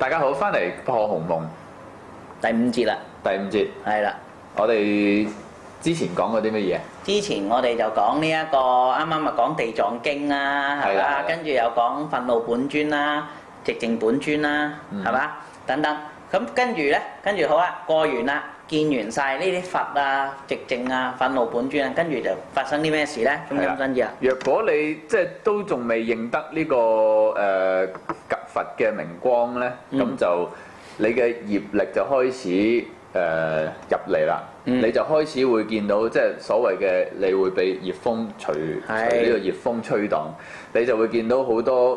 大家好，翻嚟破鴻蒙第五節啦。 第五節係啦。 我哋之前講過啲乜嘢？ 之前我哋就講呢一個啱啱咪講地藏經啦，係嘛？跟住又講憤怒本尊啦、寂靜本尊啦，係嘛？等等。咁跟住咧，跟住好啦，過完啦，見完晒呢啲佛啊、寂靜啊、憤怒本尊啊，跟住就發生啲咩事咧？中陰真意啊！ 若果你即係都仲未認得呢個佛嘅明光咧，咁就你嘅業力就開始入嚟啦。你就開始會見到即係所謂嘅，你會被熱風隨呢個熱風吹蕩，你就會見到好多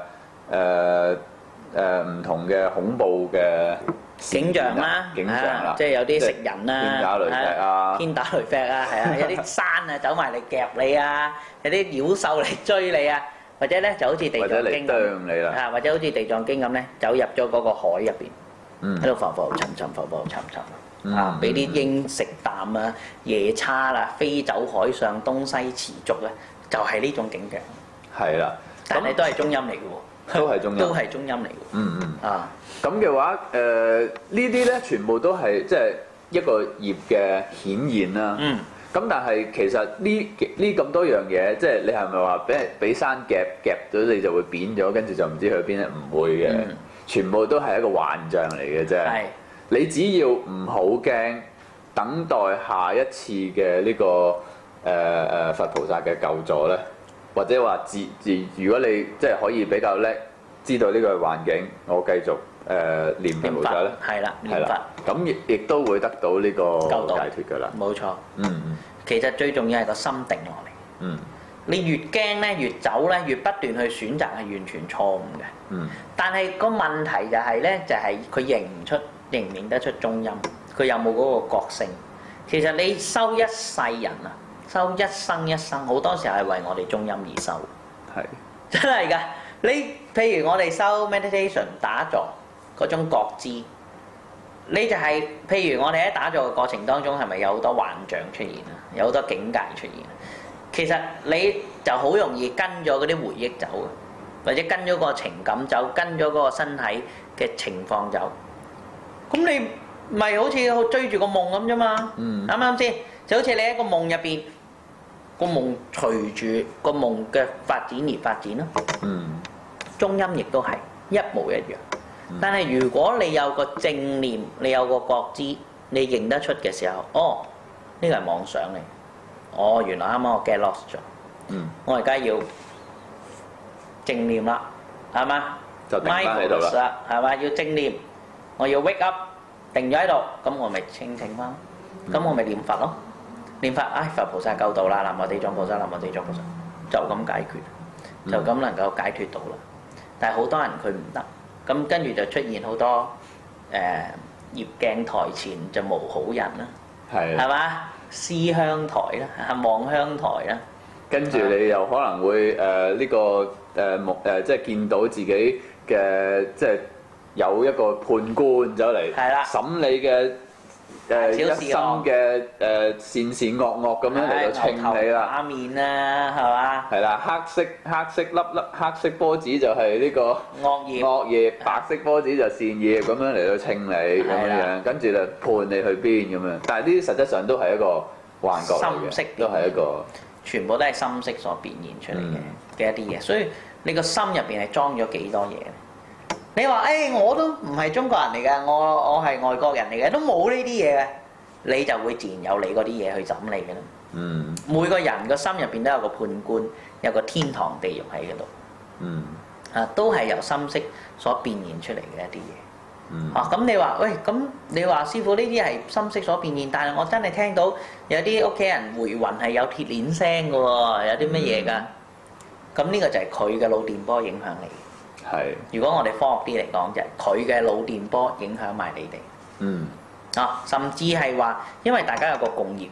唔同嘅恐怖嘅景象啦，即係有啲食人啦，天打雷劈啊，係啊，有啲山啊走埋嚟夾你啊，有啲妖獸嚟追你啊，或者咧就好似地藏經咁，或者好似地藏經咁咧，走入咗嗰個海入邊，喺度浮浮沉沉，浮浮沉沉啊，俾啲鷹食啖啊，夜叉啦，飛走海上東西持續咧，就係呢種景象。係啦，但係都係中陰嚟嘅喎。都係中陰，都係中陰嚟嘅。 咁嘅話，呢啲咧全部都係即係一個業嘅顯現啦。咁但係其實呢咁多樣嘢，即係你係咪話俾山夾咗你就會扁咗，跟住就唔知去邊咧？唔會嘅，全部都係一個幻象嚟嘅啫。你只要唔好驚，等待下一次嘅呢個佛菩薩嘅救助咧。或者話如果你即係可以比較叻，知道呢個環境，我繼續念佛菩薩咧，係啦，念佛，咁亦都會得到呢個解脫㗎啦。冇錯。其實最重要係個心定落嚟。你越驚咧，越走咧，越不斷去選擇係完全錯誤嘅。但係個問題就係咧，就係佢認唔認得出中陰，佢有冇嗰個覺性？其實你修一世人啊！修一生一生，好多時候係為我哋中陰而修。係真係㗎。你譬如我哋修 meditation 打坐嗰種覺知，你就係譬如我哋喺打坐嘅過程當中，係咪有好多幻象出現啊？有好多境界出現。其實你就好容易跟咗嗰啲回憶走，或者跟咗個情感走，跟咗嗰個身體嘅情況走。咁你咪好似追住個夢咁啫嘛？啱唔啱先？就好似你喺個夢入邊。個夢隨住個夢嘅發展而發展咯。中陰亦都係一模一樣。但係如果你有個正念，你有個覺知，你認得出嘅時候，哦，呢個係妄想嚟。哦，原來啱啱我 get lost 咗。我而家要正念啦，係嘛？就定翻喺度啦，係嘛？要正念，我要 wake up，定咗喺度，咁我咪清醒翻，咁我咪念佛咯。念法，佛菩薩救到啦！南無地藏菩薩，南無地藏菩薩，就咁解決，就咁能夠解脫到啦。但係好多人佢唔得，咁跟住就出現好多業鏡台前就無好人啦，係嘛？思鄉台啦，望鄉台啦，跟住你又可能會即係見到自己嘅即係有一個判官走嚟審你嘅。一生嘅善善惡惡咁樣嚟到稱你啦，打面啦，係嘛？係啦，黑色粒黑色波子就係呢個惡業，白色波子就善業咁樣嚟到稱你咁樣，跟住就判你去邊咁樣。但係呢啲實質上都係一個幻覺嚟嘅，都係一個全部都係心識所變現出嚟嘅一啲嘢。所以你個心入邊係裝咗幾多嘢？你話我都唔係中國人嚟嘅，我係外國人嚟嘅，都冇呢啲嘢嘅，你就會自然有你嗰啲嘢去審你嘅啦。每個人個心入邊都有個判官，有個天堂地獄喺嗰度。都係由心識所變現出嚟嘅一啲嘢。咁你話咁你話師傅呢啲係心識所變現，但係我真係聽到有啲屋企人回魂係有鐵鏈聲嘅喎，有啲乜嘢㗎？咁呢個就係佢嘅腦電波影響你。如果我哋科學啲嚟講，就係佢嘅腦電波影響埋你哋。甚至係話，因為大家有個共業，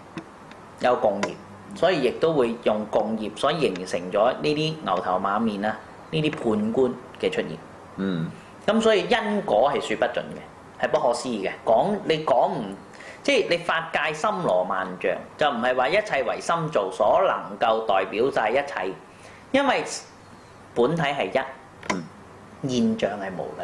所以亦都會用共業，所以形成咗呢啲牛頭馬面啦，呢啲判官嘅出現。咁所以因果係說不盡嘅，係不可思議嘅。你講唔，即係你法界森羅萬象，就唔係話一切唯心造所能夠代表晒一切，因為本體係一。現象係無量嘅，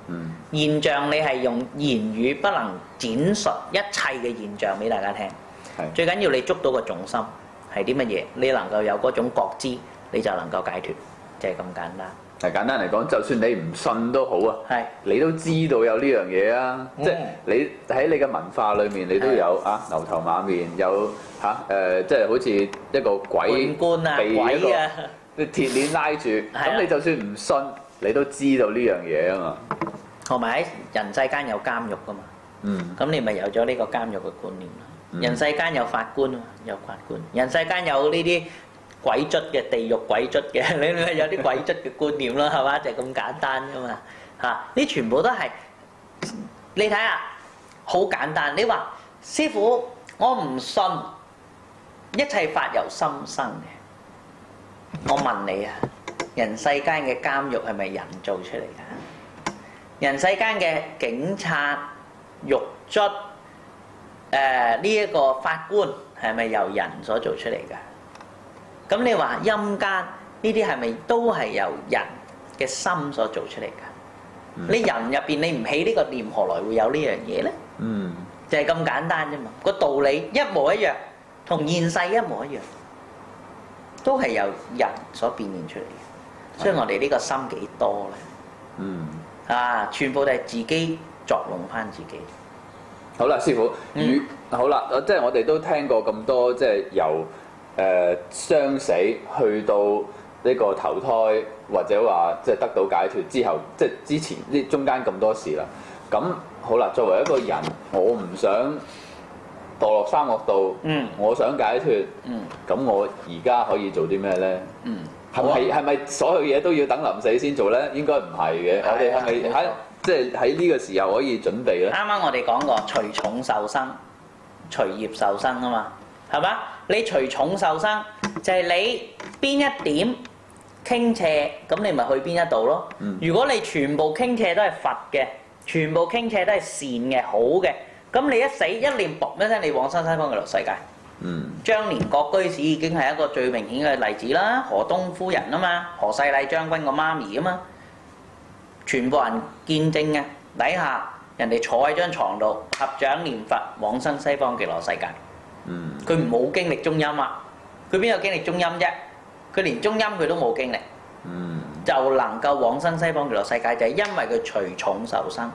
現象你係用言語不能展述一切嘅現象俾大家聽。最緊要你捉到個重心係啲乜嘢，你能夠有嗰種覺知，你就能夠解脫，就係咁簡單。 係簡單嚟講，就算你唔信都好啊，你都知道有呢樣嘢啊，即係你喺你嘅文化裏面，你都有啊牛頭馬面，有即係好似一個鬼官啊、鬼啊， 啲鐵鏈拉住，咁你就算唔信，你都知道呢樣嘢啊嘛。 同埋喺人世間有監獄噶嘛，咁你咪有咗呢個監獄嘅觀念咯。人世間有法官啊，有法官，人世間有呢啲鬼卒嘅地獄鬼卒嘅，你咪有啲鬼卒嘅觀念咯，係嘛？就係咁簡單噶嘛嚇！呢全部都係你睇下，好簡單。你話師傅，我唔信一切法由心生嘅。我問你啊，人世間嘅監獄係咪人做出嚟㗎？人世間嘅警察、獄卒、呢一個法官係咪由人所做出嚟㗎？咁你話陰間呢啲係咪都係由人嘅心所做出嚟㗎？你人入邊你唔起呢個念，何來會有呢樣嘢咧？就係咁簡單啫嘛。個道理一模一樣，同現世一模一樣，都係由人所變現出嚟嘅。所以我哋呢個心幾多咧？全部都係自己作弄翻自己。 好啦，師傅，好啦，即係我哋都聽過咁多，即係由生死去到呢個投胎，或者話即係得到解脫之後，即係之前呢中間咁多事啦。咁好啦，作為一個人，我唔想墮落三惡道，我想解脫，咁我而家可以做啲咩咧？係咪所有嘢都要等臨死先做咧？應該唔係嘅。我哋係咪喺即係喺呢個時候可以準備咧？啱啱我哋講過，隨重受生，隨業受生啊嘛，係嘛？你隨重受生就係你邊一點傾斜，咁你咪去邊一度咯。如果你全部傾斜都係佛嘅，全部傾斜都係善嘅、好嘅，咁你一死一念卜一聲，你往生西方極樂世界。張連國居士已經係一個最明顯嘅例子啦。何東夫人啊嘛，何世禮將軍個媽咪啊嘛，全部人見證嘅底下，人哋坐喺張床度合掌念佛，往生西方極樂世界。佢冇經歷中陰啊！佢邊有經歷中陰啫？佢連中陰佢都冇經歷，就能夠往生西方極樂世界，就係因為佢隨重受生，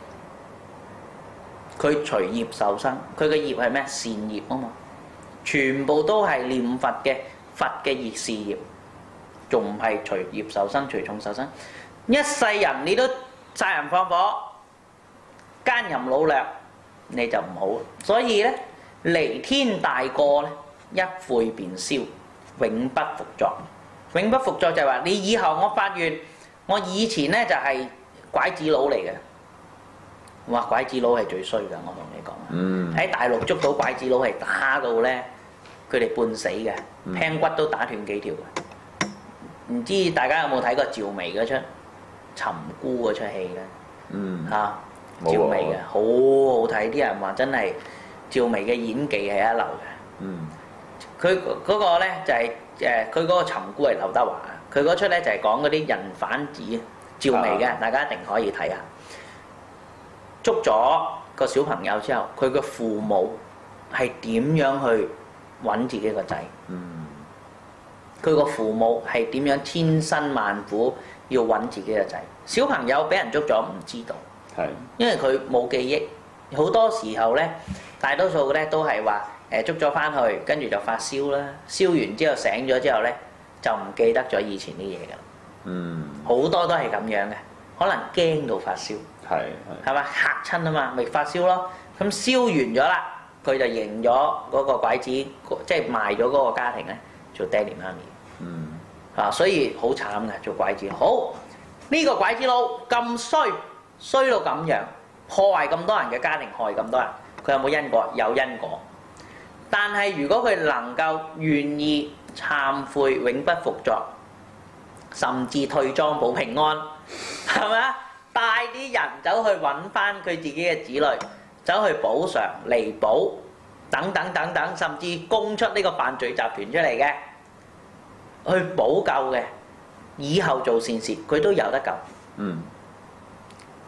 佢隨業受生。佢嘅業係咩？善業啊嘛，全部都係念佛嘅佛嘅業事業，仲唔係隨業受生、隨重受生？一世人你都殺人放火、奸淫擄掠，你就唔好。所以咧，離天大過咧，一悔便消，永不復作。永不復作就係話你以後我發現我以前咧就係拐子佬嚟嘅。哇！拐子佬係最衰㗎，我同你講。喺大陸捉到拐子佬係打到咧，佢哋半死嘅，聽骨都打斷幾條嘅。唔知大家有冇睇過趙薇嗰出《尋姑》嗰出戲咧？趙薇嘅好好睇，啲人話真係趙薇嘅演技係一流嘅。佢嗰個咧就係佢嗰個尋姑係劉德華，佢嗰出咧就係講嗰啲人販子趙薇嘅，大家一定可以睇下。捉咗個小朋友之後，佢嘅父母係點樣去揾自己個仔？佢個父母係點樣千辛萬苦要揾自己個仔？小朋友俾人捉咗唔知道，因為佢冇記憶。好多時候咧，大多數咧都係話捉咗翻去，跟住就發燒啦。燒完之後醒咗之後咧，就唔記得咗以前啲嘢㗎啦。好多都係咁樣嘅，可能驚到發燒。係嘛，嚇親啊嘛，咪發燒咯。咁燒完咗啦，佢就認咗嗰個拐子，即係賣咗嗰個家庭咧做爹哋媽咪。所以好慘嘅做拐子。好，呢個拐子佬咁衰到咁樣，破壞咁多人嘅家庭，害咁多人，佢有冇因果？有因果。但係如果佢能夠願意懺悔，永不復作，甚至退莊保平安，係咪啊？帶啲人走去揾翻佢自己嘅子女，走去補償、彌補等等等等，甚至供出呢個犯罪集團出嚟嘅，去補救嘅，以後做善事佢都有得救。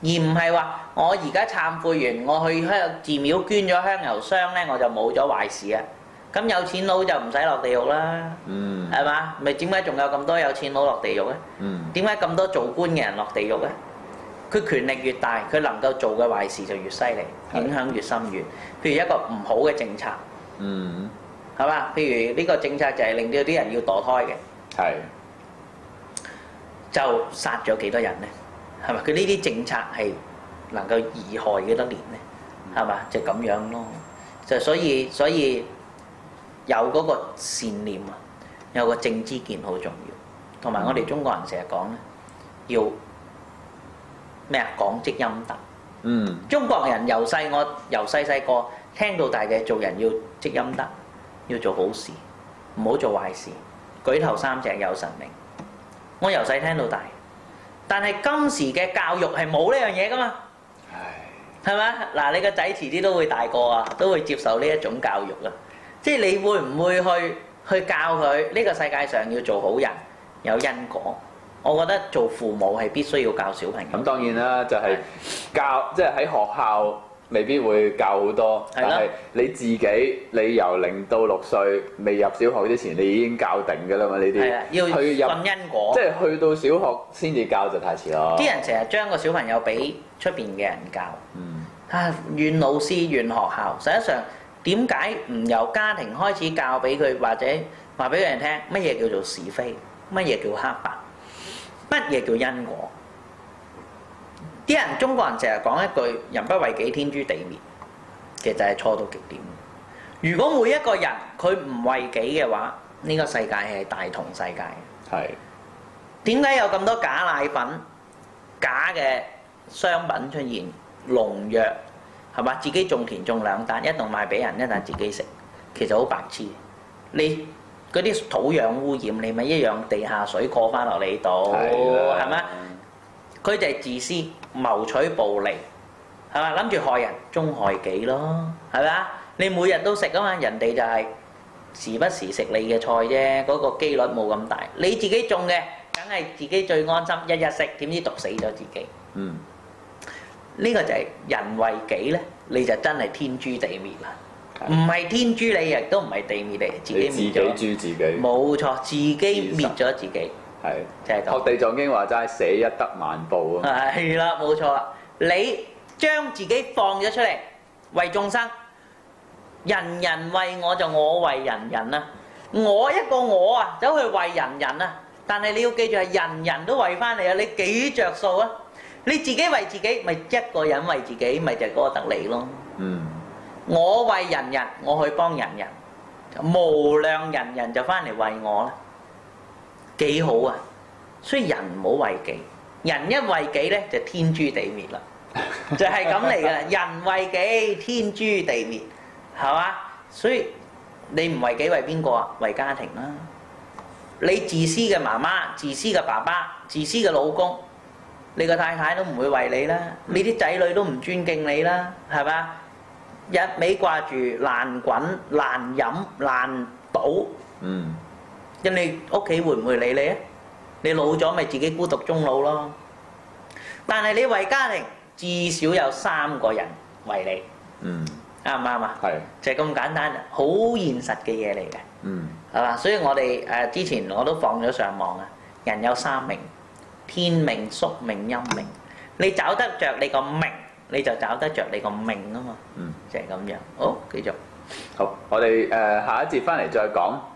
而唔係話我而家懺悔完，我去寺廟捐咗香油箱咧，我就冇咗壞事啊！咁有錢佬就唔使落地獄啦，係嘛？咪點解仲有咁多有錢佬落地獄咧？點解咁多做官嘅人落地獄咧？佢權力越大，佢能夠做嘅壞事就越犀利，影響越深遠。譬如一個唔好嘅政策，係嘛？譬如呢個政策就係令到啲人要墮胎嘅，就殺咗幾多人咧？係咪？佢呢啲政策係能夠貽害幾多年咧？係嘛？就咁樣咯。就所以有嗰個善念啊，有個正知見好重要。同埋我哋中國人成日講咧，要咩啊？廣積陰德。中國人由細細個聽到大嘅，做人要積陰德，要做好事，唔好做壞事。舉頭三尺有神明。我由細聽到大，但係今時嘅教育係冇呢樣嘢噶嘛，係咪？嗱，你個仔遲啲都會大個啊，都會接受呢一種教育啊。即係你會唔會去教佢呢個世界上要做好人，有因果？我覺得做父母係必須要教小朋友。咁當然啦，就係教，即係喺學校未必會教好多，但係你自己，你由0到6歲未入小學之前，你已經教定㗎啦嘛呢啲。係啊， 要信因果。 即係去到小學先至教就太遲咯。啲人成日將個小朋友俾出邊嘅人教，怨老師怨學校。實際上點解唔由家庭開始教俾佢，或者話俾佢哋聽乜嘢叫做是非，乜嘢叫黑白？乜嘢叫因果？啲人中國人成日講一句人不為己，天誅地滅，其實係錯到極點。如果每一個人佢唔為己嘅話，呢個世界係大同世界。係。點解有咁多假奶粉、假嘅商品出現？農藥係嘛？自己種田種2擔，一檔賣俾人，一檔自己食，其實好白痴。你嗰啲土壤污染，你咪一樣地下水過翻落你度，係咪？佢就係自私，謀取暴利，係嘛？諗住害人，終害己咯，係咪啊？你每日都食啊嘛，人哋就係時不時食你嘅菜啫，嗰個機率冇咁大。你自己種嘅，梗係自己最安心，日日食，點知毒死咗自己。呢個就係人為己咧，你就真係天誅地滅啦。唔係天誅你，亦都唔係地滅你，自己滅咗。自己誅自己。冇錯，自己滅咗自己。係，就係咁。學地藏經話齋，捨一得萬報啊！係啦，冇錯啦。你將自己放咗出嚟，為眾生，人人為我就我為人人啊！我一個我啊，走去為人人啊！但係你要記住係人人都為翻你啊！你幾着數啊？你自己為自己，咪一個人為自己，咪就係嗰個得利咯。我為人人，我去幫人人，無量人人就翻嚟為我啦，幾好啊！所以人唔好為己，人一為己咧就天誅地滅啦，就係咁嚟噶啦。人為己，天誅地滅，係嘛？所以你唔為己為邊個啊？為家庭啦。你自私嘅媽媽、自私嘅爸爸、自私嘅老公，你個太太都唔會為你啦，你啲仔女都唔尊敬你啦，係嘛？一味掛住爛滾、爛飲、爛賭，人哋屋企會唔會理你啊？你老咗咪自己孤獨終老咯。但係你為家庭，至少有3個人為你，啱唔啱啊？係，就係咁簡單，好現實嘅嘢嚟嘅，係嘛？所以我哋之前我都放咗上網啊。人有3命，天命、宿命、陰命。你找得着你個命，你就找得着你個命啊嘛。就係咁樣。好，繼續。好，我哋下一節翻嚟再講。